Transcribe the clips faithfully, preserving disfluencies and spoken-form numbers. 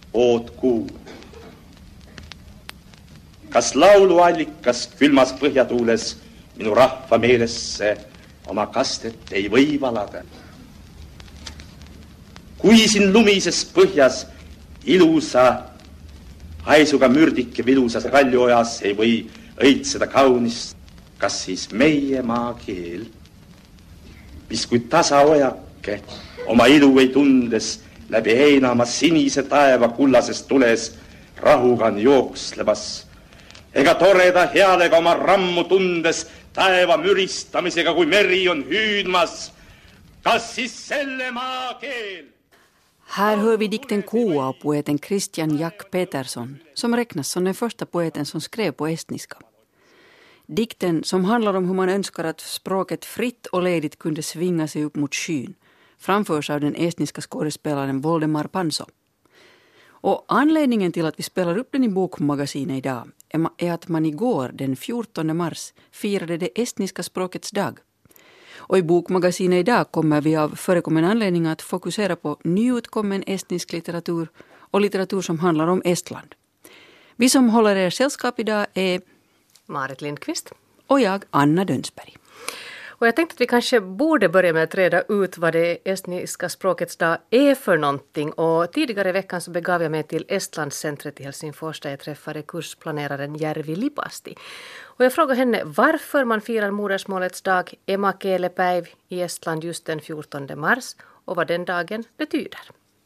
oot kuulnud. Kas lauluallikas külmas põhjatuules minu rahva meelesse oma kastet ei või valada? Kui siin lumises põhjas ilusa haisuga mürdike vilusas Kaljuojas ei või õitseda kaunist, kas siis meie maakeel, mis kui tasaojake oma ilu ei tundes läbi heinama sinise taeva kullasest tules rahuga on jookslemas, ega toreda healega oma rammu tundes taeva müristamisega, kui meri on hüüdmas, kas siis selle maakeel? Här hör vi dikten Koa av poeten Christian Jack Peterson, som räknas som den första poeten som skrev på estniska. Dikten, som handlar om hur man önskar att språket fritt och ledigt kunde svinga sig upp mot skyn, framförs av den estniska skådespelaren Voldemar Panso. Och anledningen till att vi spelar upp den i Bokmagasinet idag är att man igår, den fjortonde mars, firade det estniska språkets dag. Och i Bokmagasinet idag kommer vi av förekommande anledning att fokusera på nyutkommen estnisk litteratur och litteratur som handlar om Estland. Vi som håller er sällskap idag är Marit Lindqvist och jag, Anna Dönsberg. Och jag tänkte att vi kanske borde börja med att reda ut vad det estniska språkets dag är för någonting. Och tidigare i veckan så begav jag mig till Estlandscentret i Helsingfors där jag träffade kursplaneraren Järvi Lipasti. Och jag frågade henne varför man firar modersmålets dag, emakielepäiv, i Estland just den fjortonde mars och vad den dagen betyder.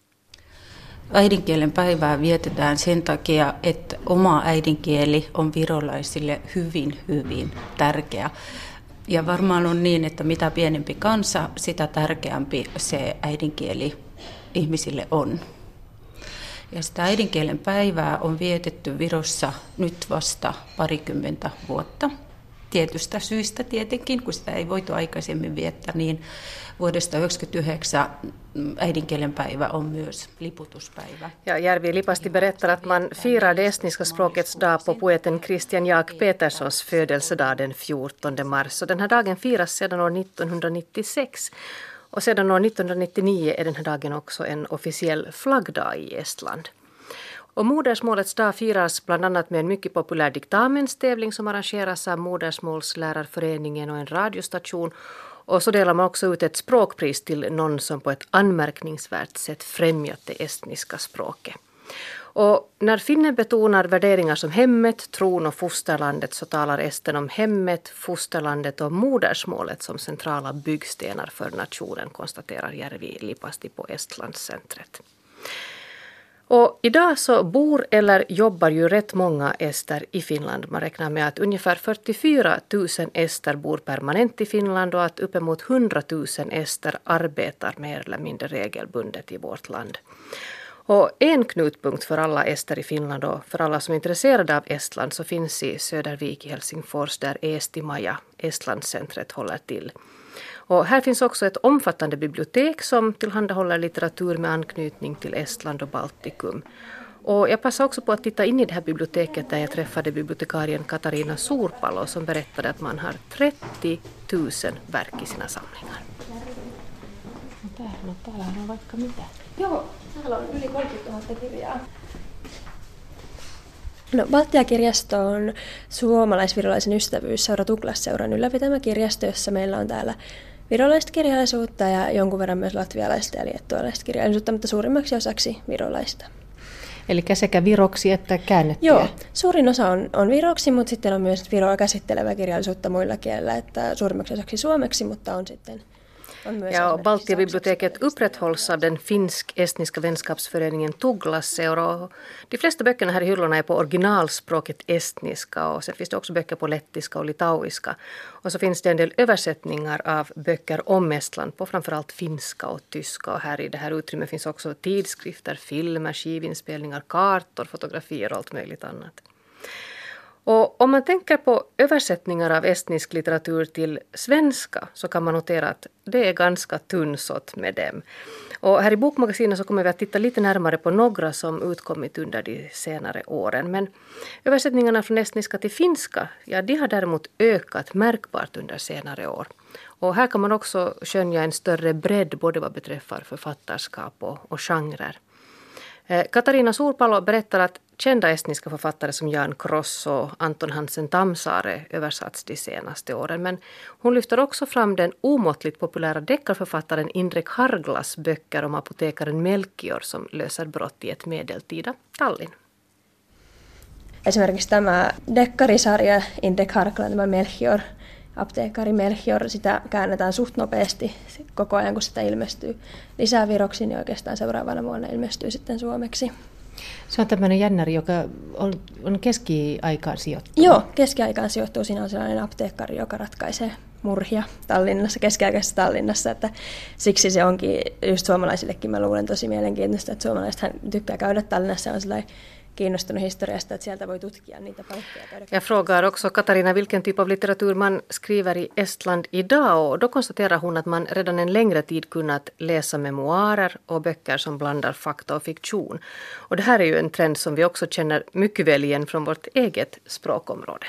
Äidinkielen päivää vietetään sen takia, että oma äidinkieli on virolaisille hyvin, hyvin tärkeä. Ja varmaan on niin, että mitä pienempi kansa, sitä tärkeämpi se äidinkieli ihmisille on. Ja sitä äidinkielen päivää on vietetty Virossa nyt vasta parikymmentä vuotta. Tietystä syistä tietenkin, kun sitä ei voitu aikaisemmin viettää, niin vuodesta yhdeksänkymmentäyhdeksän äidinkielen päivä on myös liputuspäivä. Ja Järvi Lipasti berättar att man firar det estniska språkets dag på poeten Christian Jack Petersons födelsedag den fjortonde mars. Och den här dagen firas sedan år nittonhundranittiosex. Och sedan år nittonhundranittionio är den här dagen också en officiell flaggdag i Estland. Och modersmålets dag firas bland annat med en mycket populär diktamenstävling som arrangeras av Modersmålslärarföreningen och en radiostation. Och så delar man också ut ett språkpris till någon som på ett anmärkningsvärt sätt främjat det estniska språket. Och när finnen betonar värderingar som hemmet, tron och fosterlandet så talar esten om hemmet, fosterlandet och modersmålet som centrala byggstenar för nationen, konstaterar Järvi Lipasti på Estlandscentret. Och idag så bor eller jobbar ju rätt många ester i Finland. Man räknar med att ungefär fyrtiofyra tusen ester bor permanent i Finland och att uppemot hundra tusen ester arbetar mer eller mindre regelbundet i vårt land. Och en knutpunkt för alla ester i Finland och för alla som är intresserade av Estland så finns i Södervik i Helsingfors där Eestimaja, Estlandscentret, håller till. Och här finns också ett omfattande bibliotek som tillhandahåller litteratur med anknytning till Estland och Baltikum. Och jag passade också på att titta in i det här biblioteket där jag träffade bibliotekarien Katarina Suurpalo som berättade att man har trettio tusen verk i sina samlingar. Täällä, täällä on vaikka mitä. Joo, täällä on yli kolmekymmentätuhatta kirjaa. No, Baltia-kirjasto on suomalais-virolaisen ystävyysseura Tuklas-seuran ylläpitämä kirjasto, jossa meillä on täällä virolaista kirjallisuutta ja jonkun verran myös latvialaista ja liettualaista kirjallisuutta, mutta suurimmaksi osaksi virolaista. Eli sekä viroksi että käännettyä? Joo, suurin osa on, on viroksi, mutta sitten on myös viroa käsittelevää kirjallisuutta muilla kielillä, että suurimmaksi osaksi suomeksi, mutta on sitten... Ja, och Baltia-biblioteket upprätthålls av den finsk-estniska vänskapsföreningen Tuklas-seura. De flesta böckerna här i hyllorna är på originalspråket estniska och sen finns det också böcker på lettiska och litauiska. Och så finns det en del översättningar av böcker om Estland på framförallt finska och tyska. Och här i det här utrymmet finns också tidskrifter, filmer, skivinspelningar, kartor, fotografier och allt möjligt annat. Och om man tänker på översättningar av estnisk litteratur till svenska så kan man notera att det är ganska tunnsått med dem. Och här i Bokmagasinet så kommer vi att titta lite närmare på några som utkommit under de senare åren. Men översättningarna från estniska till finska, ja, de har däremot ökat märkbart under senare år. Och här kan man också skönja en större bredd både vad beträffar författarskap och, och genrer. Katarina Suurpalo berättar att kända estniska författare som Jan Kross och Anton Hansen Tammsaare översatts de senaste åren. Men hon lyfter också fram den omåttligt populära deckarförfattaren Indrek Harglas böcker om apotekaren Melchior som löser brott i ett medeltida Tallinn. Esimerkiksi tämä dekkarisarja Indrek Harglan, tämä Melchior, apteekari Melchior, sitä käännetään suht nopeasti koko ajan, kun sitä ilmestyy lisää viroksi, niin oikeastaan seuraavana vuonna ilmestyy sitten suomeksi. Se on tämmöinen jännäri, joka on, on keskiaikaan sijoittunut. Joo, keskiaikaan sijoittuu. Siinä on sellainen apteekkari, joka ratkaisee murhia Tallinnassa, keskiaikaisessa Tallinnassa. Että siksi se onkin just suomalaisillekin, mä luulen, tosi mielenkiintoista, että suomalaisethan tykkää käydä Tallinnassa, on sellainen kiinnostunut historiasta, että sieltä voi tutkia niitä paikkoja. Jag frågar också Katarina vilken typ av litteratur man skriver i Estland idag, och då konstaterar hon att man redan en längre tid kunnat läsa memoarer och böcker som blandar fakta och fiktion. Och det här är ju en trend som vi också känner mycket väl igen från vårt eget språkområde.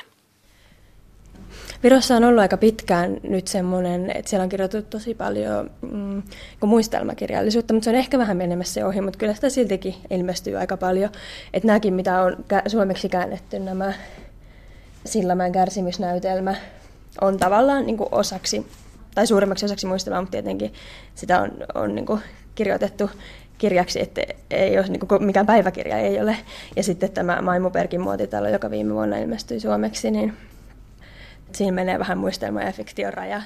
Virossa on ollut aika pitkään nyt semmoinen, että siellä on kirjoitettu tosi paljon mm, muistelmakirjallisuutta, mutta se on ehkä vähän menemässä ohi, mutta kyllä sitä siltikin ilmestyy aika paljon. Että nämäkin, mitä on suomeksi käännetty, nämä Sillamäen kärsimysnäytelmä, on tavallaan niin kuin osaksi, tai suurimmaksi osaksi muistelmaa, mutta tietenkin sitä on, on niin kuin kirjoitettu kirjaksi, että ei ole, niin kuin mikään päiväkirja ei ole. Ja sitten tämä Maimuperkin muotitalo, joka viime vuonna ilmestyi suomeksi, niin siinä menee vähän muistelma- ja fiktion raja.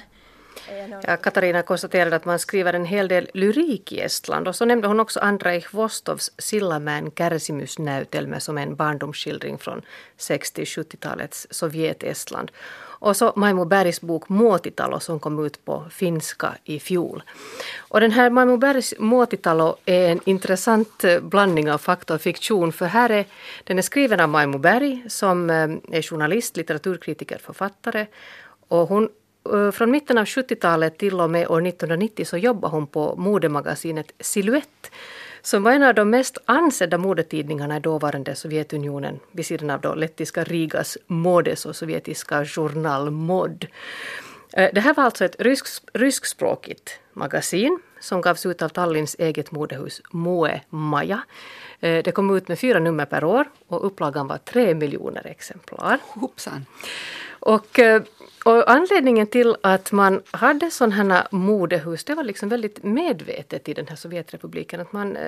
Ja Katarina konstaterade att man skriver en hel del lyrik i Estland, och så nämnde hon också Andrei Hvostovs Sillamäen kärsimysnäytelmä som en barndomsskildring från sextio-sjuttiotalets Sovjet-Estland. Och så Maimu Bergs bok Muotitalo som kom ut på finska i fjol. Och den här Maimu Bergs Muotitalo är en intressant blandning av fakta och fiktion, för här är, den är skriven av Maimu Berg som är journalist, litteraturkritiker, författare, och hon från mitten av sjuttiotalet till och med år nittonhundranittio så jobbade hon på modemagasinet Silhouette, som var en av de mest ansedda modetidningarna i dåvarande Sovjetunionen, vid sidan av då lettiska Rigas Modes och sovjetiska Journal Mod. Det här var alltså ett rysk, ryskspråkigt magasin som gavs ut av Tallinns eget modehus Moe Maja. Det kom ut med fyra nummer per år och upplagan var tre miljoner exemplar. Hoppsan. Och, och anledningen till att man hade sådana här modehus, det var liksom väldigt medvetet i den här Sovjetrepubliken, att man,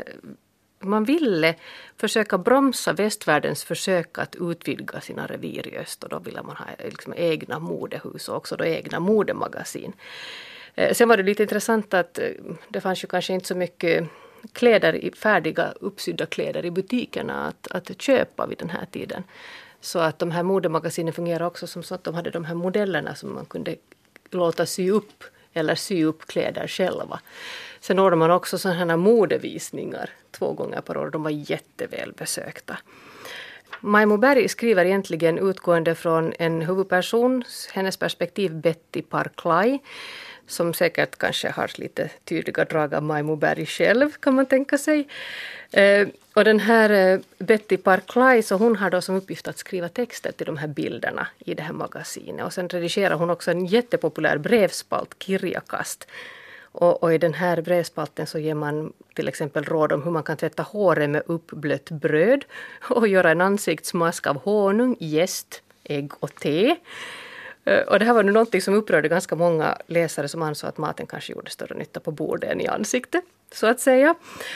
man ville försöka bromsa västvärldens försök att utvidga sina revir i öst, och då ville man ha liksom egna modehus och också då egna modemagasin. Sen var det lite intressant att det fanns ju kanske inte så mycket kläder, färdiga uppsydda kläder i butikerna att, att köpa vid den här tiden. Så att de här modemagasinen fungerar också som så att de hade de här modellerna som man kunde låta sy upp eller sy upp kläder själva. Sen ordnade man också sådana här modevisningar två gånger per år. De var jätteväl besökta. Maimu Berg skriver egentligen utgående från en huvudperson, hennes perspektiv Betty Parklai, som säkert kanske har lite tydliga drag av Maimu Berg själv, kan man tänka sig. Eh, och den här eh, Betty Parklai, så hon har då som uppgift att skriva texter till de här bilderna i det här magasinet. Och sen redigerar hon också en jättepopulär brevspalt, Kirjakast. Och, och i den här brevspalten så ger man till exempel råd om hur man kan tvätta håret med uppblött bröd och göra en ansiktsmask av honung, jäst, ägg och te. Och det här var nu någonting som upprörde ganska många läsare som ansåg att maten kanske gjorde större nytta på bordet än i ansiktet, så att säga.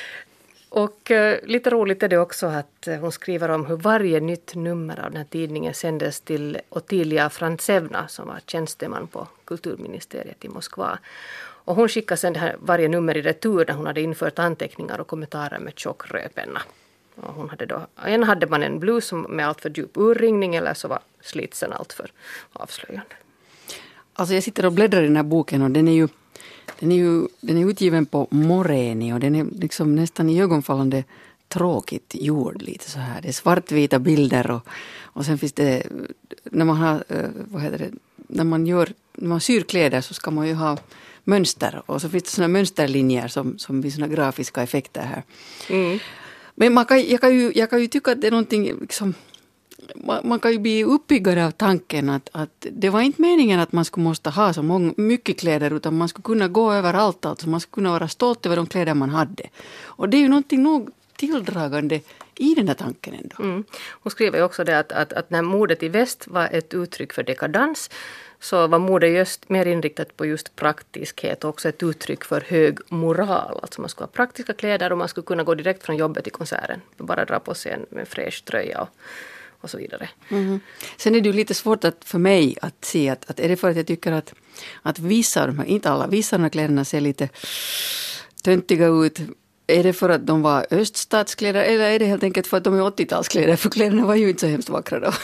Och eh, lite roligt är det också att eh, hon skriver om hur varje nytt nummer av den här tidningen sändes till Ottilia Frantsevna, som var tjänsteman på kulturministeriet i Moskva. Och hon skickade sedan det här varje nummer i retur när hon hade infört anteckningar och kommentarer med tjock rödpenna. Och hon hade då, en hade man en blus med allt för djup urringning, eller så var slitsen allt för avslöjande. Alltså jag sitter och bläddrar i den här boken, och den är ju, den är ju den är utgiven på moreni, och den är liksom nästan i ögonfallande tråkigt gjord, lite så här. Det är svartvita bilder, och, och sen finns det, när man har, vad heter det, när man gör, när man syr kläder så ska man ju ha mönster, och så finns det såna mönsterlinjer som, som blir såna grafiska effekter här. Mm. Men man kan, jag, kan ju, jag kan ju tycka att det är någonting liksom, man, man kan ju bli uppiggare av tanken att, att det var inte meningen att man skulle måste ha så många, mycket kläder, utan man skulle kunna gå överallt, alltså man skulle kunna vara stolt över de kläder man hade. Och det är ju någonting nog tilldragande i den här tanken ändå. Mm. Hon skriver ju också det att, att, att när modet i väst var ett uttryck för dekadans, så var modet just mer inriktat på just praktiskhet och också ett uttryck för hög moral. Alltså man skulle ha praktiska kläder och man skulle kunna gå direkt från jobbet till konserten. Bara dra på sig en, en fräsch tröja och, och så vidare. Mm. Sen är det ju lite svårt att, för mig att se att, att är det för att jag tycker att, att vissa av de här, inte alla, vissa av de här kläderna ser lite töntiga ut. Är det för att de var öststatskläder eller är det helt enkelt för att de är åttiotalskläder? För kläderna var ju inte så hemskt vackra då.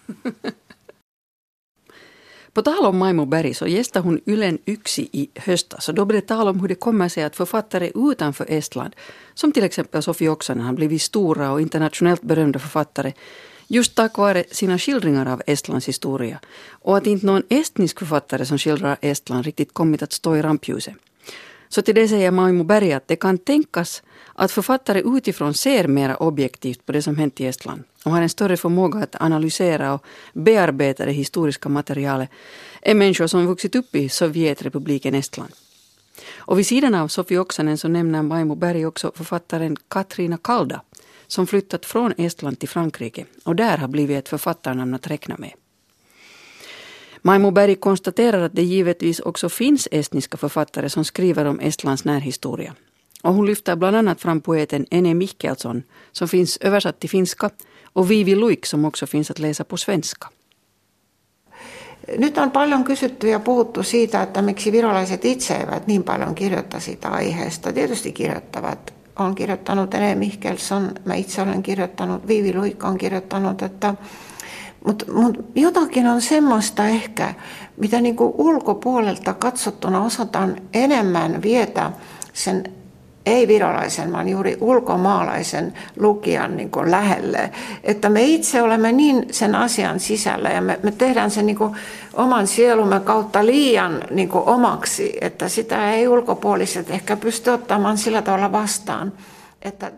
På tal om Maimo Berg så gästade hon Ylen Yksi i höstas. Så då blev det tal om hur det kommer sig att författare utanför Estland, som till exempel Sofi Oksanen, har blivit stora och internationellt berömda författare just tack vare sina skildringar av Estlands historia. Och att inte någon estnisk författare som skildrar Estland riktigt kommit att stå i rampljuset. Så till det säger Maimo Berg att det kan tänkas att författare utifrån ser mer objektivt på det som hänt i Estland och har en större förmåga att analysera och bearbeta det historiska materialet än människor som vuxit upp i Sovjetrepubliken Estland. Och vid sidan av Sofi Oksanen så nämner Maimo Berg också författaren Katrina Kalda som flyttat från Estland till Frankrike och där har blivit ett författarnamn att räkna med. Maimo Berg konstaterar att det givetvis också finns estniska författare som skriver om Estlands närhistoria. Och hon lyfter bland annat fram poeten Ene Mikkelsson som finns översatt till finska och Vivi Luik som också finns att läsa på svenska. Nyt on paljon kysytty ja puhuttu siitä, että miksi virolaiset itse eivät niin paljon kirjoita siitä aiheesta. Tietysti kirjoittavat. Olen kirjoittanut Ene Mikkelsson, mä itse olen kirjoittanut, Vivi Luik on kirjoittanut, että Mutta mut jotakin on semmoista ehkä, mitä niinku ulkopuolelta katsottuna osataan enemmän vietä sen ei-virolaisen, vaan juuri ulkomaalaisen lukijan niinku lähelle. Että me itse olemme niin sen asian sisällä ja me, me tehdään sen niinku oman sielumme kautta liian niinku omaksi, että sitä ei ulkopuoliset ehkä pysty ottamaan sillä tavalla vastaan, että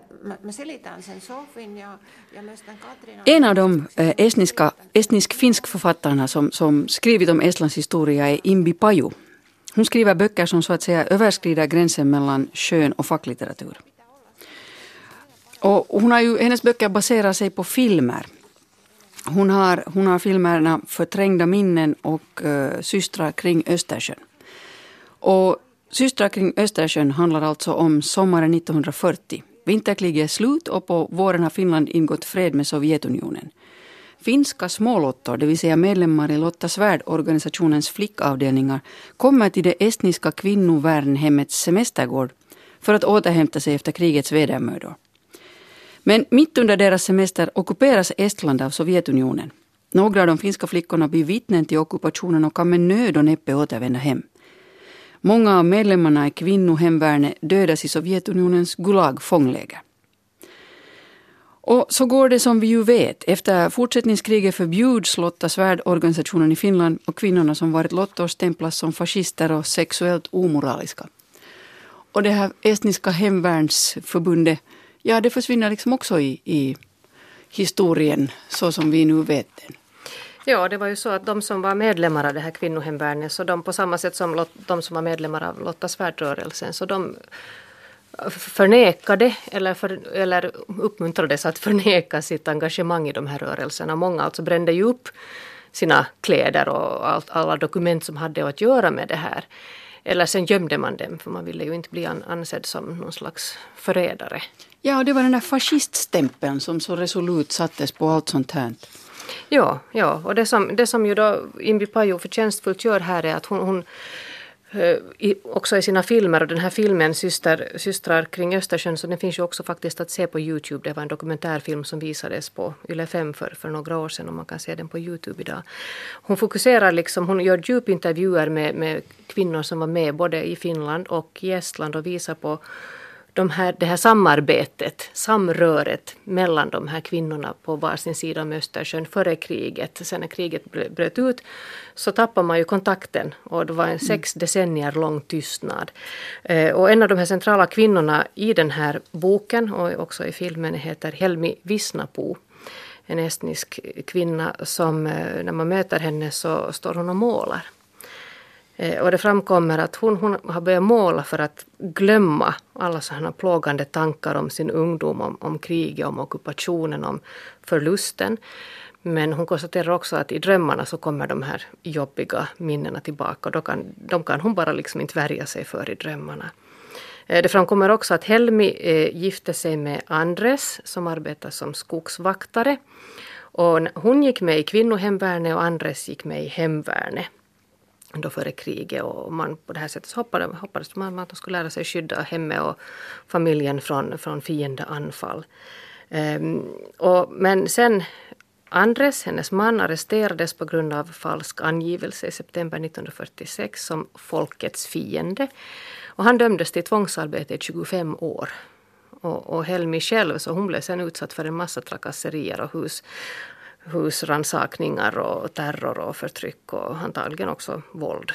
En av de eh, estniska, estnisk-finsk författarna som, som skrivit om Estlands historia är Imbi Paju. Hon skriver böcker som så att säga överskrider gränsen mellan skön och facklitteratur. Och hon har ju, hennes böcker baserar sig på filmer. Hon har, hon har filmerna Förträngda minnen och uh, Systrar kring Östersjön. Och Systrar kring Östersjön handlar alltså om sommaren nittonhundrafyrtio. Vinterkriget är slut och på våren har Finland ingått fred med Sovjetunionen. Finska smålottor, det vill säga medlemmar i Lotta Svärd-organisationens flickavdelningar, kommer till det estniska kvinnovärnhemmets semestergård för att återhämta sig efter krigets vedermödor. Men mitt under deras semester ockuperas Estland av Sovjetunionen. Några av de finska flickorna blir vittnen till ockupationen och kan med nöd och näppe återvända hem. Många av medlemmarna i kvinnohemvärnet dödas i Sovjetunionens Gulag-fångläger. Och så går det som vi ju vet. Efter fortsättningskriget förbjuds Lotta Svärd-organisationen i Finland och kvinnorna som varit lottor stämplas som fascister och sexuellt omoraliska. Och det här estniska hemvärnsförbundet, ja det försvinner liksom också i, i historien så som vi nu vet den. Ja, det var ju så att de som var medlemmar av det här kvinnohemvärnet, så de på samma sätt som de som var medlemmar av Lotta Svärd-rörelsen, så de förnekade eller, för, eller uppmuntrades att förneka sitt engagemang i de här rörelserna. Många alltså brände ju upp sina kläder och allt, alla dokument som hade att göra med det här. Eller sen gömde man dem, för man ville ju inte bli ansedd som någon slags förrädare. Ja, och det var den där fasciststämpeln som så resolut sattes på allt sånt här. Ja, ja, och det som, det som ju då Imbi Paju förtjänstfullt gör här är att hon, hon i, också i sina filmer, och den här filmen Syster, Systrar kring Östersjön, så den finns ju också faktiskt att se på YouTube. Det var en dokumentärfilm som visades på Yle fem för, för några år sedan och man kan se den på YouTube idag. Hon fokuserar liksom, hon gör djupintervjuer med, med kvinnor som var med både i Finland och i Estland och visar på de här, det här samarbetet, samröret mellan de här kvinnorna på varsin sida om Östersjön före kriget. Sen när kriget bröt ut så tappade man ju kontakten och det var en sex decennier lång tystnad. Eh, och en av de här centrala kvinnorna i den här boken och också i filmen heter Helmi Visnapuu. En estnisk kvinna som när man möter henne så står hon och målar. Och det framkommer att hon, hon har börjat måla för att glömma alla sådana plågande tankar om sin ungdom, om, om kriget, om ockupationen, om förlusten. Men hon konstaterar också att i drömmarna så kommer de här jobbiga minnena tillbaka och då kan, de kan hon bara liksom inte värja sig för i drömmarna. Det framkommer också att Helmi eh, gifte sig med Andres som arbetar som skogsvaktare. Och hon gick med i kvinnohemvärnet och Andres gick med i hemvärnet då före kriget. Och man på det här sättet hoppades, hoppades man att de skulle lära sig skydda hemmet och familjen från, från fiendeanfall. Um, och, men sen Andres, hennes man, arresterades på grund av falsk angivelse i september nittonhundrafyrtiosex som folkets fiende. Och han dömdes till tvångsarbete i tjugofem år. Och, och Helmi själv, så hon blev sen utsatt för en massa trakasserier och hus, husransakningar och terror och förtryck och antagligen också våld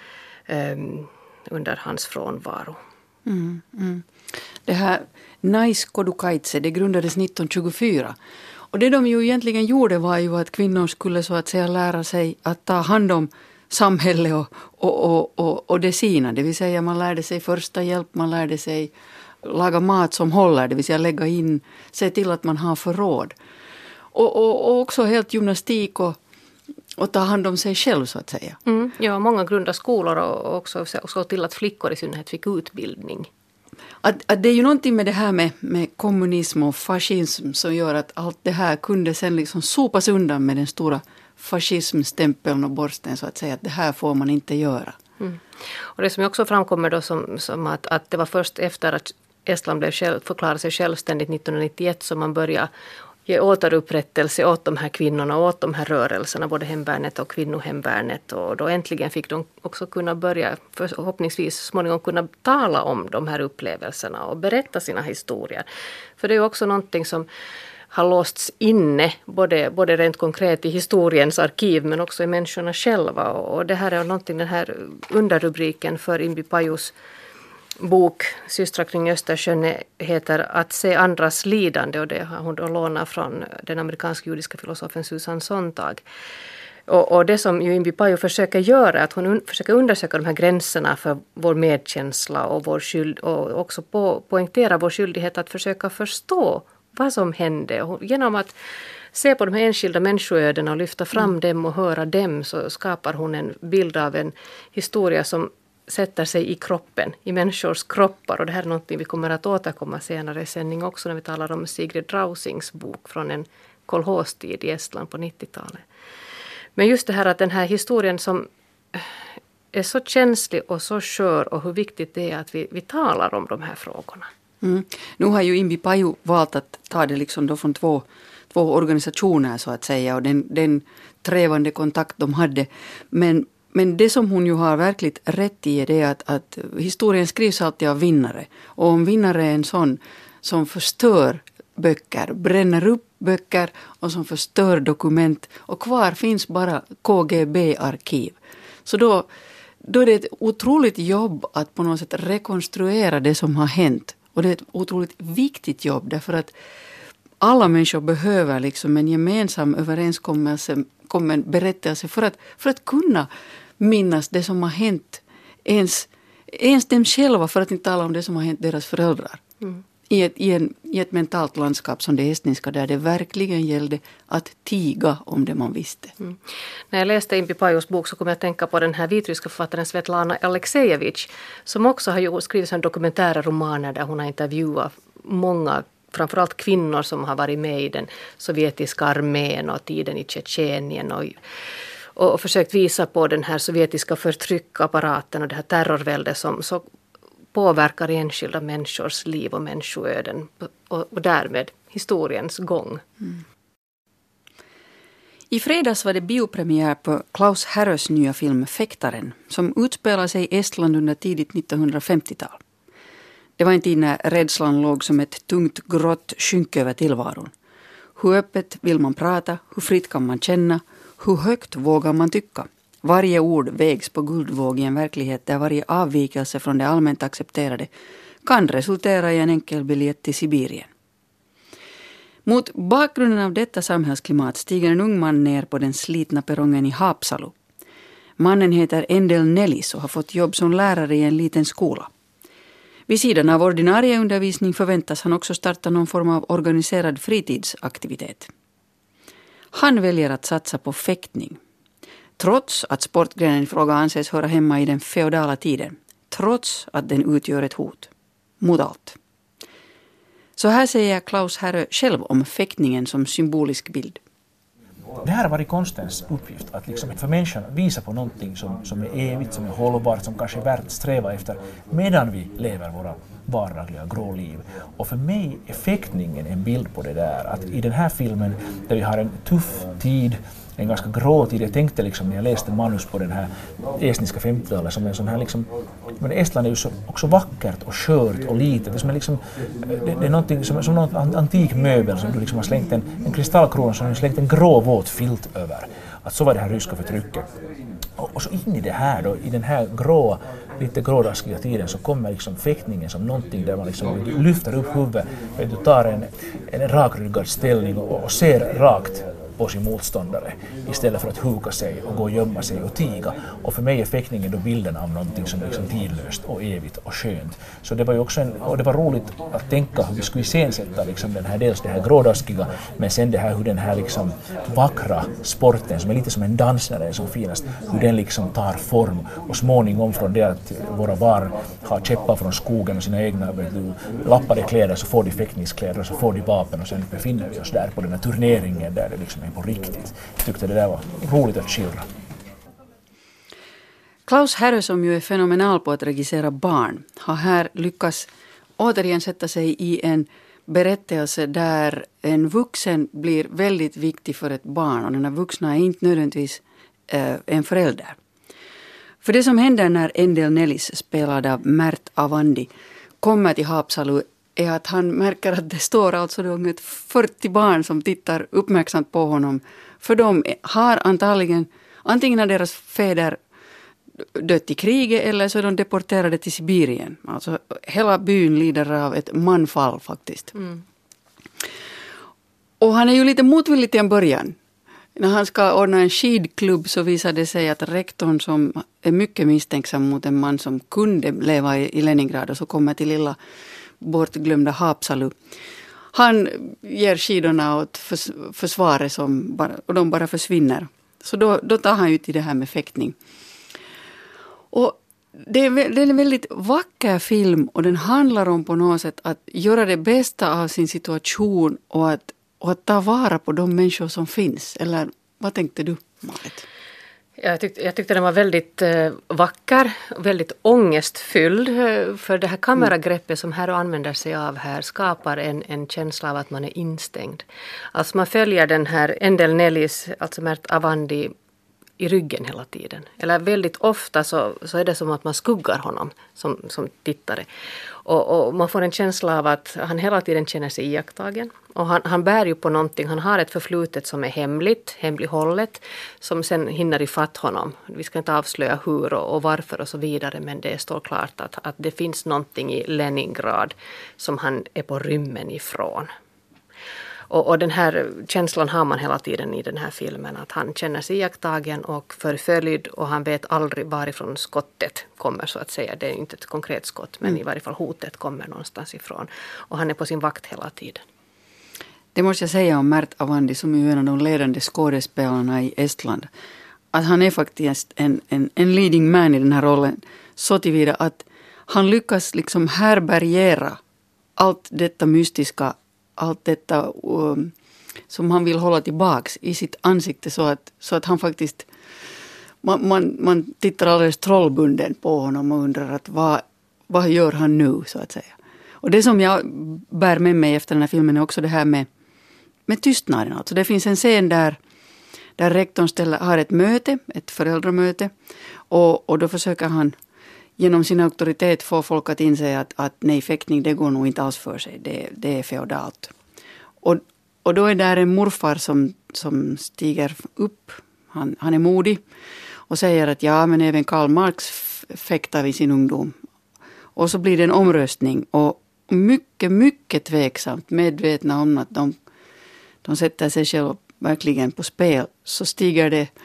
um, under hans frånvaro. Mm, mm. Det här Naiskodukaitse, det grundades nittonhundratjugofyra. Och det de ju egentligen gjorde var ju att kvinnor skulle så att säga lära sig att ta hand om samhället och, och, och, och, och det sina. Det vill säga man lärde sig första hjälp, man lärde sig laga mat som håller, det vill säga lägga in, se till att man har förråd. Och, och, och också helt gymnastik och, och ta hand om sig själv så att säga. Mm, ja, många grundade skolor och också såg till att flickor i synnerhet fick utbildning. Att, att det är ju någonting med det här med, med kommunism och fascism som gör att allt det här kunde sen liksom sopas undan med den stora fascismstämpeln och borsten så att säga att det här får man inte göra. Mm. Och det som också framkommer då som, som att, att det var först efter att Estland blev själv, förklarade sig självständigt nittonhundranittioett som man började ge återupprättelse åt de här kvinnorna och åt de här rörelserna, både hemvärnet och kvinnohemvärnet. Och då äntligen fick de också kunna börja, förhoppningsvis småningom kunna tala om de här upplevelserna och berätta sina historier. För det är ju också någonting som har låsts inne, både, både rent konkret i historiens arkiv men också i människorna själva. Och det här är någonting, den här underrubriken för Imbi Pajus bok Systrar kring Östersjön heter Att se andras lidande och det har hon då lånat från den amerikanska judiska filosofen Susan Sontag. Och, och det som ju Imbi Paju försöker göra är att hon un, försöker undersöka de här gränserna för vår medkänsla och, vår skyld, och också på, poängtera vår skyldighet att försöka förstå vad som hände. Och genom att se på de här enskilda människoödena och lyfta fram mm. dem och höra dem så skapar hon en bild av en historia som sätter sig i kroppen, i människors kroppar. Och det här är något vi kommer att återkomma senare i sändning också när vi talar om Sigrid Drausings bok från en kolhostid i Estland på nittiotalet. Men just det här att den här historien som är så känslig och så skör och hur viktigt det är att vi, vi talar om de här frågorna. Mm. Nu har ju Imbi Paju valt att ta det liksom då från två, två organisationer så att säga och den, den trävande kontakt de hade. Men Men det som hon ju har verkligt rätt i är det att, att historien skrivs alltid av vinnare. Och om vinnare är en sån som förstör böcker, bränner upp böcker och som förstör dokument och kvar finns bara K G B-arkiv. Så då, då är det ett otroligt jobb att på något sätt rekonstruera det som har hänt. Och det är ett otroligt viktigt jobb därför att alla människor behöver liksom en gemensam överenskommelse, en berättelse för att, för att kunna minnas det som har hänt ens, ens dem själva för att inte tala om det som har hänt deras föräldrar. Mm. I, ett, i, en, I ett mentalt landskap som det estniska där det verkligen gällde att tiga om det man visste. Mm. När jag läste Imbi Pajus bok så kom jag att tänka på den här vitryska författaren Svetlana Aleksejevich som också har skrivit en dokumentära romaner där hon har intervjuat många framförallt kvinnor som har varit med i den sovjetiska armén och tiden i Tjetjenien och, och försökt visa på den här sovjetiska förtryckapparaten och det här terrorväldet som så påverkar enskilda människors liv och människoöden och, och därmed historiens gång. Mm. I fredags var det biopremiär på Klaus Härös nya film Fäktaren som utspelar sig i Estland under tidigt nittonhundrafemtiotal. Det var en tid när rädslan låg som ett tungt grått skynke över tillvaron. Hur öppet vill man prata? Hur fritt kan man känna? Hur högt vågar man tycka? Varje ord vägs på guldvåg i en verklighet där varje avvikelse från det allmänt accepterade kan resultera i en enkel biljett till Sibirien. Mot bakgrunden av detta samhällsklimat stiger en ung man ner på den slitna perrongen i Haapsalu. Mannen heter Endel Nellis och har fått jobb som lärare i en liten skola. Vid sidan av ordinarie undervisning förväntas han också starta någon form av organiserad fritidsaktivitet. Han väljer att satsa på fäktning. Trots att sportgrenen i fråga anses höra hemma i den feodala tiden. Trots att den utgör ett hot. Mot allt. Så här säger Klaus Härö själv om fäktningen som symbolisk bild. Det här har varit konstens uppgift, att liksom för människan visa på någonting som, som är evigt, som är hållbart, som kanske är värt att sträva efter medan vi lever våra vardagliga grå liv. Och för mig är fäktningen en bild på det där, att i den här filmen där vi har en tuff tid, en ganska grå tid. Jag tänkte liksom när jag läste manus på den här estniska femtiotalet som en sån här liksom, men Estland är ju så, också vackert och skört och litet. Det är, som är, liksom, det, det är någonting som, som någon antik möbel som du liksom har slängt en, en kristallkrona som du har slängt en grå våt filt över. Att så var det här ryska förtrycket. Och, och så in i det här då, i den här grå, lite grådaskiga tiden så kommer liksom fäktningen som någonting där man liksom lyfter upp huvudet, du tar en, en rakryggad ställning och, och ser rakt på sin motståndare istället för att huka sig och gå och gömma sig och tiga. Och för mig är fäktningen då bilden av någonting som är liksom tidlöst och evigt och skönt. Så det var ju också en, och det var roligt att tänka hur vi skulle iscensätta liksom den här, dels det här grådaskiga, men sen det här hur den här liksom vackra sporten som är lite som en dans när den är som finast, hur den liksom tar form och småningom från det att våra barn har käppar från skogen och sina egna du, lappade kläder så får de fäktningskläder och så får de vapen och sen befinner vi oss där på den här turneringen där det liksom på riktigt. Jag tyckte det där var roligt att skildra. Klaus Härö, som ju är fenomenal på att regissera barn, har här lyckats återigen sätta sig i en berättelse där en vuxen blir väldigt viktig för ett barn och den här vuxna är inte nödvändigtvis äh, en förälder. För det som händer när Endel Nellis, spelad av Mert Avandi, kommer till Haapsalu är att han märker att det står alltså ungefär fyrtio barn som tittar uppmärksamt på honom. För de har antagligen, antingen har deras fäder dött i kriget eller så är de deporterade till Sibirien. Alltså hela byn lider av ett manfall faktiskt. Mm. Och han är ju lite motvillig till en början. När han ska ordna en skidklubb så visar det sig att rektorn som är mycket misstänksam mot en man som kunde leva i Leningrad och så kommer till lilla bortglömda Haapsalu. Han ger skidorna åt förs- försvaret som bara, och de bara försvinner. Så då, då tar han ut i det här med fäktning. Och det är, det är en väldigt vacker film och den handlar om på något sätt att göra det bästa av sin situation och att, och att ta vara på de människor som finns. Eller vad tänkte du, Marit? Jag tyckte, jag tyckte den var väldigt eh, vacker, väldigt ångestfylld. För det här kameragreppet som här använder sig av här skapar en, en känsla av att man är instängd. Alltså man följer den här Endel Nellis, alltså Mert Avandi, i ryggen hela tiden. Eller väldigt ofta så, så är det som att man skuggar honom som, som tittare. Och, och man får en känsla av att han hela tiden känner sig iakttagen. Och han, han bär ju på någonting. Han har ett förflutet som är hemligt, hemlighållet. Som sen hinner ifatt honom. Vi ska inte avslöja hur och, och varför och så vidare. Men det står klart att, att det finns någonting i Leningrad som han är på rymmen ifrån. Och, och den här känslan har man hela tiden i den här filmen. Att han känner sig iakttagen och förföljd. Och han vet aldrig varifrån skottet kommer så att säga. Det är inte ett konkret skott. Men mm. i varje fall hotet kommer någonstans ifrån. Och han är på sin vakt hela tiden. Det måste jag säga om Mert Avandi som är en av de ledande skådespelarna i Estland. Att han är faktiskt en, en, en leading man i den här rollen. Så tillvida att han lyckas liksom härbärgera allt detta mystiska. Allt detta um, som han vill hålla tillbaks i sitt ansikte så att, så att han faktiskt, man, man, man tittar alldeles trollbunden på honom och undrar att vad, vad gör han nu så att säga. Och det som jag bär med mig efter den här filmen är också det här med, med tystnaden. Alltså det finns en scen där, där rektorn ställer, har ett möte, ett föräldramöte och, och då försöker han genom sin auktoritet får folk att inse att, att nej, fäktning det går nog inte alls för sig. Det, det är feodalt. Och, och då är där en morfar som, som stiger upp. Han, han är modig. Och säger att ja, men även Karl Marx fäktar vid sin ungdom. Och så blir det en omröstning. Och mycket, mycket tveksamt medvetna om att de, de sätter sig själva verkligen på spel. Så stiger det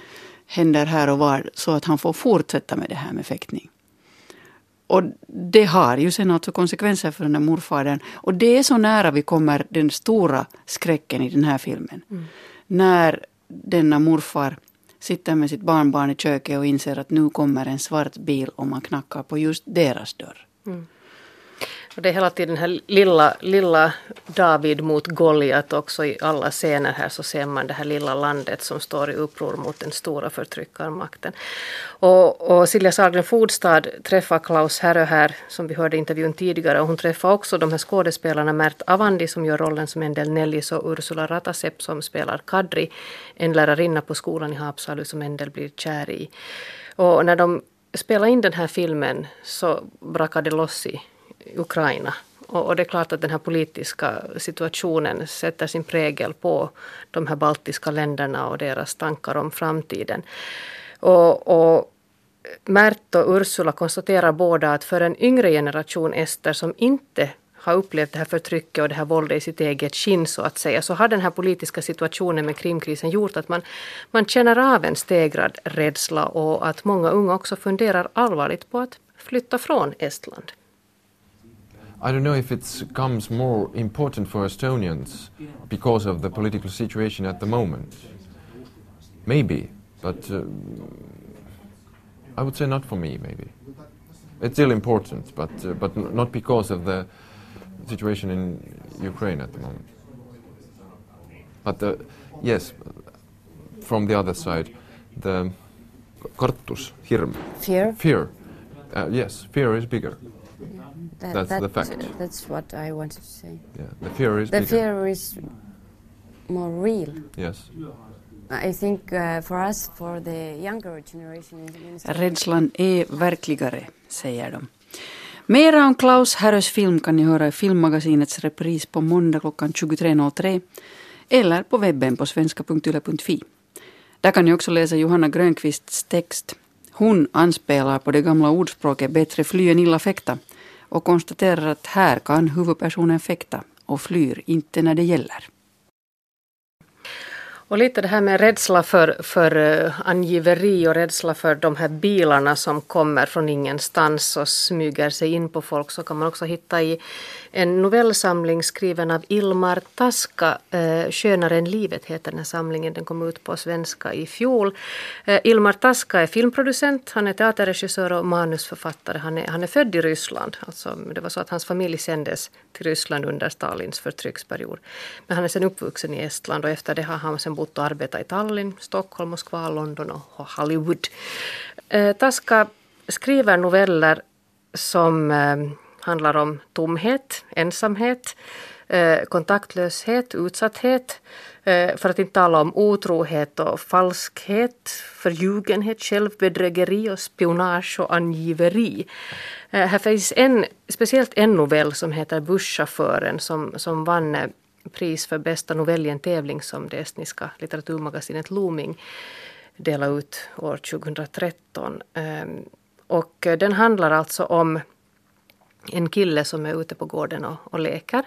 händer här och var så att han får fortsätta med det här med fäktning. Och det har ju sen alltså konsekvenser för den här morfadern. Och det är så nära vi kommer den stora skräcken i den här filmen. Mm. När denna morfar sitter med sitt barnbarn i köket och inser att nu kommer en svart bil och man knackar på just deras dörr. Mm. Och det är hela tiden den här lilla, lilla David mot Goliat också i alla scener här så ser man det här lilla landet som står i uppror mot den stora förtryckarmakten. Och, och Silja Sahlgren Fodstad träffar Klaus Härö här som vi hörde i intervjun tidigare och hon träffar också de här skådespelarna Mert Avandi som gör rollen som Endel Nellis och Ursula Ratasep som spelar Kadri, en lärarinna på skolan i Haapsalu som Endel blir kär i. Och när de spelar in den här filmen så brakade det loss i Ukraina. Och, och det är klart att den här politiska situationen sätter sin prägel på de här baltiska länderna och deras tankar om framtiden. Och, och Mert och Ursula konstaterar båda att för en yngre generation ester som inte har upplevt det här förtrycket och det här våldet i sitt eget skinn så att säga, så har den här politiska situationen med Krimkrisen gjort att man, man känner av en stegrad rädsla och att många unga också funderar allvarligt på att flytta från Estland. I don't know if it becomes more important for Estonians because of the political situation at the moment. Maybe, but uh, I would say not for me, maybe. It's still important, but, uh, but not because of the situation in Ukraine at the moment. But uh, yes, from the other side, the kartus, hirm. Fear? Fear. Uh, yes, fear is bigger. That, that's that, the fact. That's what I wanted to say. Yeah, the fear is the bigger. fear is more real. Yes. I think uh, for us, for the younger generation... Rädslan är verkligare, säger de. Mera om Klaus Härös film kan ni höra i Filmmagasinets repris på måndag klockan tjugotre noll tre eller på webben på svenska punkt yle punkt fi. Där kan ni också läsa Johanna Grönqvists text. Hon anspelar på det gamla ordspråket bättre fly än illa fäkta och konstaterar att här kan huvudpersonen fäkta och flyr inte när det gäller. Och lite det här med rädsla för, för uh, angiveri och rädsla för de här bilarna som kommer från ingenstans och smyger sig in på folk så kan man också hitta i en novellsamling skriven av Ilmar Taska. Uh, Skönare än livet heter den här samlingen. Den kom ut på svenska i fjol. Uh, Ilmar Taska är filmproducent, han är teaterregissör och manusförfattare. Han är, han är född i Ryssland. Alltså, det var så att hans familj sändes till Ryssland under Stalins förtrycksperiod. Men han är sedan uppvuxen i Estland och efter det har han sen bott och arbetat i Tallinn, Stockholm, Moskva, London och Hollywood. Eh, Taska skriver noveller som eh, handlar om tomhet, ensamhet, eh, kontaktlöshet, utsatthet, eh, för att inte tala om otrohet och falskhet, förljugenhet, självbedrägeri och spionage och angiveri. Eh, här finns en, speciellt en novell som heter Busschauffören som, som vann eh, pris för bästa novell i en tävling som det estniska litteraturmagasinet Looming delade ut år tjugohundratretton. Och den handlar alltså om en kille som är ute på gården och, och leker.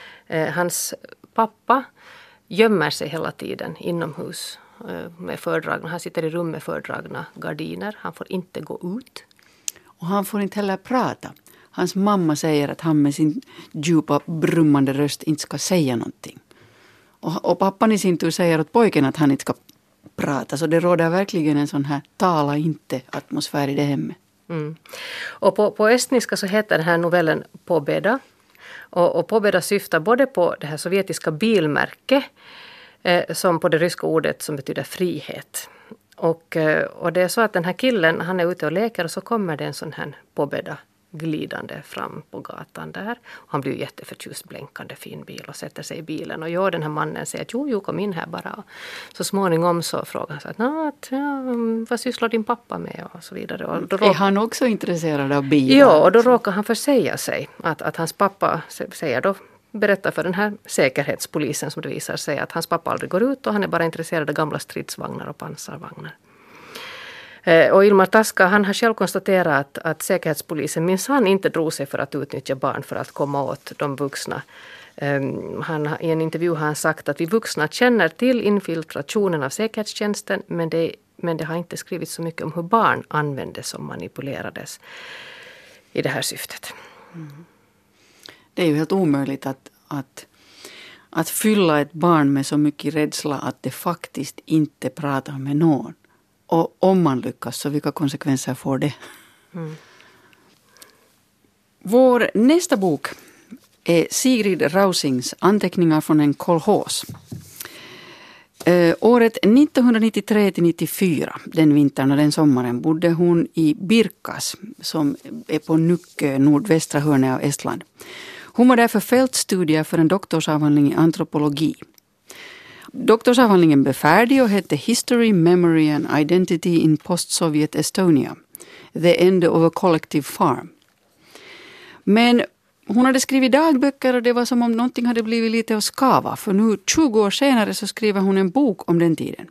Hans pappa gömmer sig hela tiden inomhus med fördragna. Han sitter i rum med fördragna gardiner. Han får inte gå ut. Och han får inte heller prata. Hans mamma säger att han med sin djupa brummande röst inte ska säga någonting. Och, och pappan i sin tur säger åt pojken att han inte ska prata. Så det råder verkligen en sån här tala inte-atmosfär i det hemmet. Mm. Och på, på estniska så heter den här novellen Pobeda. Och, och Pobeda syftar både på det här sovjetiska bilmärke eh, som på det ryska ordet som betyder frihet. Och, eh, och det är så att den här killen, han är ute och leker och så kommer det en sån här Pobeda glidande fram på gatan där. Och han blir jätteförtjust, blänkande fin bil och sätter sig i bilen. Och jag den här mannen säger att jo, jo, kom in här bara. Och så småningom så frågar han så att, att ja, vad sysslar din pappa med och så vidare. Och då är råk... han också intresserad av bilar? Ja, och då råkar han försäga sig att, att hans pappa säger då, berättar för den här säkerhetspolisen som det visar sig att hans pappa aldrig går ut och han är bara intresserad av gamla stridsvagnar och pansarvagnar. Och Ilmar Taska, han har själv konstaterat att, att säkerhetspolisen minsann inte drog sig för att utnyttja barn för att komma åt de vuxna. Um, han, I en intervju har han sagt att vi vuxna känner till infiltrationen av säkerhetstjänsten men det är men det har inte skrivits så mycket om hur barn användes och manipulerades i det här syftet. Mm. Det är ju helt omöjligt att, att, att fylla ett barn med så mycket rädsla att det faktiskt inte pratar med någon. Och om man lyckas, så vilka konsekvenser får det? Mm. Vår nästa bok är Sigrid Rausings Anteckningar från en kolhos. Eh, året nittonhundranittiotre till nittiofyra, den vintern och den sommaren, bodde hon i Birkas som är på Nukkö, nordvästra hörnet av Estland. Hon var där för fältstudier för en doktorsavhandling i antropologi. Doktorsavhandlingen blev färdig och hette History, Memory and Identity in Post-Soviet Estonia. The End of a Collective Farm. Men hon hade skrivit dagböcker och det var som om någonting hade blivit lite att skava. För nu tjugo år senare så skriver hon en bok om den tiden.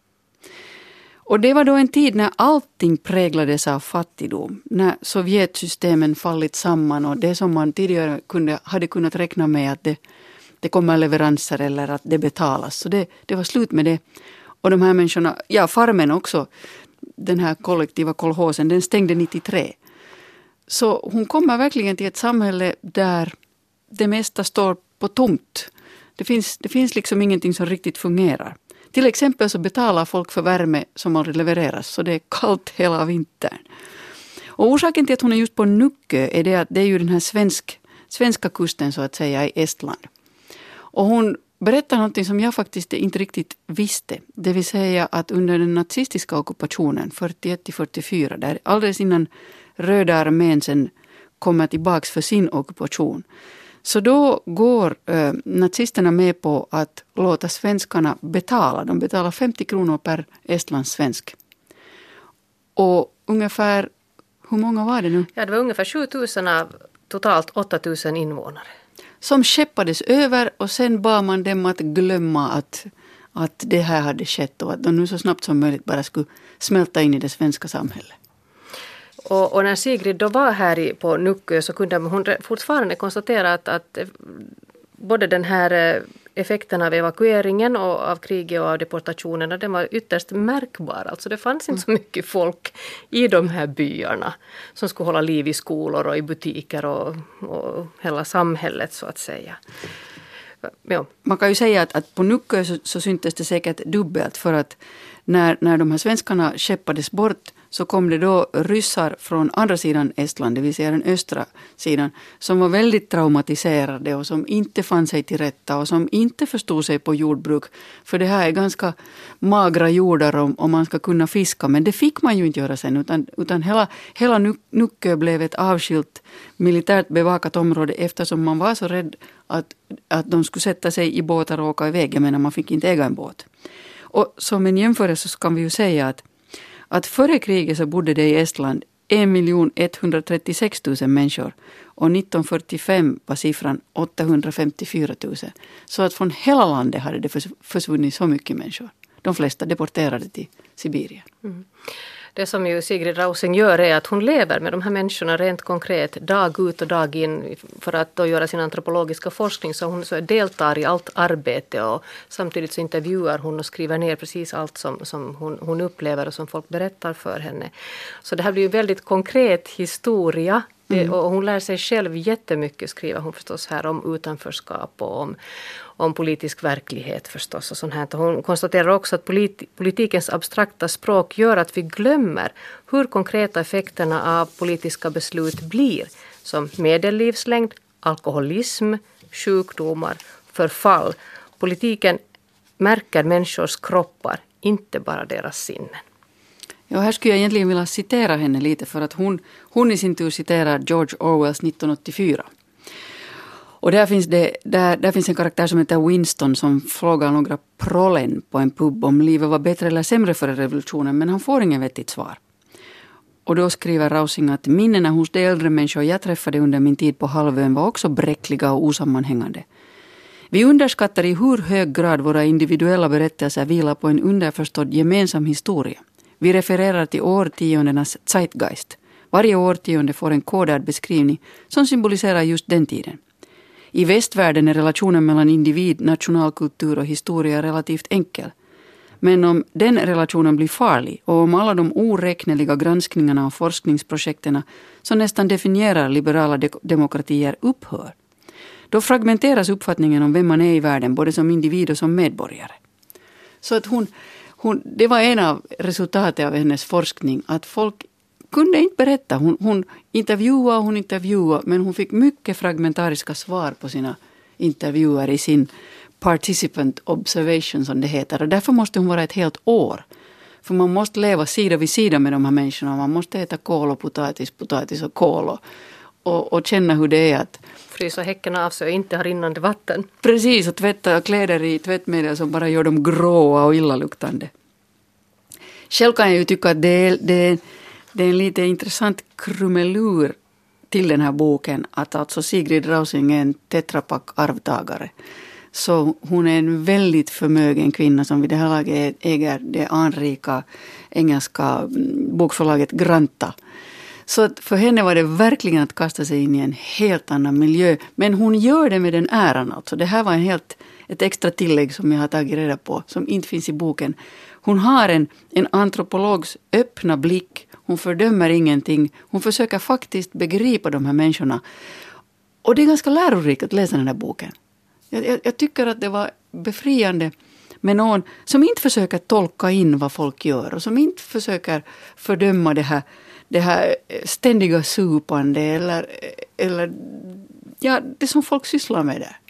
Och det var då en tid när allting präglades av fattigdom. När Sovjetsystemen fallit samman och det som man tidigare kunde, hade kunnat räkna med att det, det kommer leveranser eller att det betalas. Så det, det var slut med det. Och de här människorna, ja farmen också, den här kollektiva kolhosen, den stängde nittiotre. Så hon kommer verkligen till ett samhälle där det mesta står på tomt. Det finns, det finns liksom ingenting som riktigt fungerar. Till exempel så betalar folk för värme som aldrig levereras, så det är kallt hela vintern. Och orsaken till att hon är just på Nukkö är det att det är ju den här svensk, svenska kusten så att säga i Estland. Och hon berättar någonting som jag faktiskt inte riktigt visste. Det vill säga att under den nazistiska ockupationen fyrtioett till fyrtiofyra, där alldeles innan Röda armén sen kommer tillbaks för sin ockupation. Så då går eh, nazisterna med på att låta svenskarna betala. De betalar femtio kronor per estlandssvensk. Och ungefär, hur många var det nu? Ja, det var ungefär sjutusen av totalt åttatusen invånare. Som skeppades över och sen bad man dem att glömma att, att det här hade skett. Och att de nu så snabbt som möjligt bara skulle smälta in i det svenska samhället. Och, och när Sigrid då var här i, på Nukkö så kunde hon fortfarande konstatera att, att både den här effekten av evakueringen och av kriget och av deportationerna, den var ytterst märkbar. Alltså det fanns inte så mycket folk i de här byarna som skulle hålla liv i skolor och i butiker och, och hela samhället så att säga. Ja. Man kan ju säga att, att på Nukkö så, så syntes det säkert dubbelt för att när, när de här svenskarna skeppades bort så kom det då ryssar från andra sidan Estland, det vill säga den östra sidan, som var väldigt traumatiserade och som inte fann sig till rätta och som inte förstod sig på jordbruk. För det här är ganska magra jordar om, om man ska kunna fiska, men det fick man ju inte göra sen, utan, utan hela, hela Nukkö blev ett avskilt militärt bevakat område eftersom man var så rädd att, att de skulle sätta sig i båtar och åka iväg, men man fick inte äga en båt. Och som en jämförelse så kan vi ju säga att att före kriget så bodde det i Estland en miljon etthundratrettiosex tusen människor och nittonhundrafyrtiofem var siffran åttahundrafemtiofyra tusen. Så att från hela landet hade det försvunnit så mycket människor. De flesta deporterade till Sibirien. Mm. Det som ju Sigrid Rausing gör är att hon lever med de här människorna rent konkret dag ut och dag in för att då göra sin antropologiska forskning. Så hon så deltar i allt arbete och samtidigt så intervjuar hon och skriver ner precis allt som, som hon, hon upplever och som folk berättar för henne. Så det här blir ju väldigt konkret historia. Mm. Och hon lär sig själv jättemycket, skriver hon förstås här, om utanförskap och om, om politisk verklighet förstås. Och sånt här. Hon konstaterar också att politi- politikens abstrakta språk gör att vi glömmer hur konkreta effekterna av politiska beslut blir. Som medellivslängd, alkoholism, sjukdomar, förfall. Politiken märker människors kroppar, inte bara deras sinnen. Ja, här skulle jag egentligen vilja citera henne lite för att hon, hon i sin tur citerar George Orwells nittonhundraåttiofyra. Och där finns, det, där, där finns en karaktär som heter Winston som frågar några prollen på en pub om livet var bättre eller sämre före revolutionen, men han får ingen vettigt svar. Och då skriver Rausing att minnena hos de äldre människor jag träffade under min tid på halvön var också bräckliga och osammanhängande. Vi underskattar i hur hög grad våra individuella berättelser vilar på en underförstådd gemensam historia. Vi refererar till årtiondenas zeitgeist. Varje årtionde får en kodad beskrivning som symboliserar just den tiden. I västvärlden är relationen mellan individ, nationalkultur och historia relativt enkel. Men om den relationen blir farlig och om alla de oräkneliga granskningarna och forskningsprojekterna som nästan definierar liberala de- demokratier upphör, då fragmenteras uppfattningen om vem man är i världen, både som individ och som medborgare. Så att hon, hon, det var en av resultaten av hennes forskning, att folk kunde inte berätta. Hon, hon intervjuade och hon intervjuade, men hon fick mycket fragmentariska svar på sina intervjuer i sin participant observation, som det heter. Och därför måste hon vara ett helt år. För man måste leva sida vid sida med de här människorna. Man måste äta kål och potatis, potatis och kål och, och, och känna hur det är att frysa häckarna av sig och inte ha rinnande vatten. Precis, och tvätta kläder i tvättmedel som bara gör dem gråa och illaluktande. Själv kan jag ju tycka att det är, det är, det är en lite intressant krumelur till den här boken, att alltså Sigrid Rausing är en tetrapack-arvtagare. Så hon är en väldigt förmögen kvinna som vid det här laget äger det anrika engelska bokförlaget Granta. Så att för henne var det verkligen att kasta sig in i en helt annan miljö. Men hon gör det med den äran. Alltså. Det här var en helt, ett extra tillägg som jag har tagit reda på, som inte finns i boken. Hon har en, en antropologs öppna blick. Hon fördömer ingenting. Hon försöker faktiskt begripa de här människorna. Och det är ganska lärorikt att läsa den här boken. Jag, jag, jag tycker att det var befriande med någon som inte försöker tolka in vad folk gör. Och som inte försöker fördöma det här, det här ständiga supande. Eller, eller ja, det som folk sysslar med där.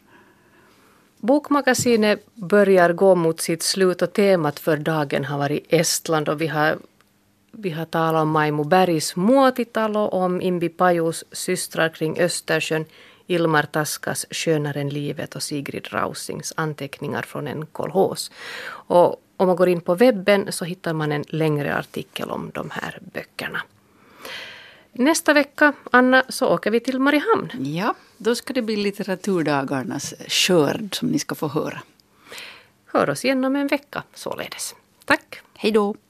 Bokmagasinet börjar gå mot sitt slut och temat för dagen har varit Estland. Och vi har, vi har talat om Maimo Bergs Muotitalo, om Imbi Pajus systrar kring Östersjön, Ilmar Taskas Skönare än livet och Sigrid Rausings anteckningar från en kolhos. Och om man går in på webben så hittar man en längre artikel om de här böckerna. Nästa vecka, Anna, så åker vi till Mariehamn. Ja, då ska det bli litteraturdagarnas skörd som ni ska få höra. Hör oss igen om en vecka således. Tack. Hej då.